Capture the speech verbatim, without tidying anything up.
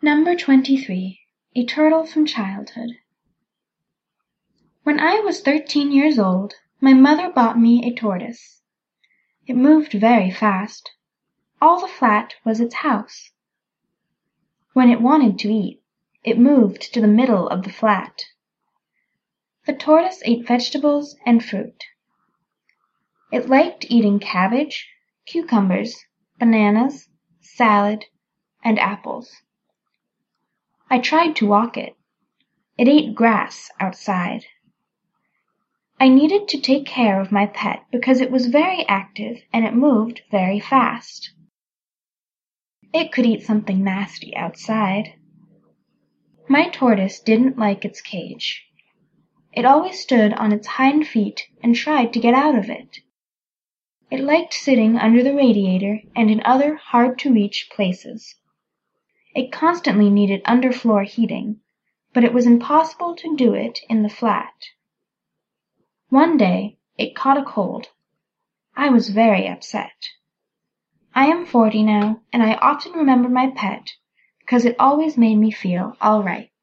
Number twenty-three. A Turtle from Childhood. When I was thirteen years old, my mother bought me a tortoise. It moved very fast. All the flat was its house. When it wanted to eat, it moved to the middle of the flat. The tortoise ate vegetables and fruit. It liked eating cabbage, cucumbers, bananas, salad, and apples. I tried to walk it. It ate grass outside. I needed to take care of my pet because it was very active and it moved very fast. It could eat something nasty outside. My tortoise didn't like its cage. It always stood on its hind feet and tried to get out of it. It liked sitting under the radiator and in other hard-to-reach places. It constantly needed underfloor heating, but it was impossible to do it in the flat. One day, it caught a cold. I was very upset. I am forty now, and I often remember my pet because it always made me feel all right.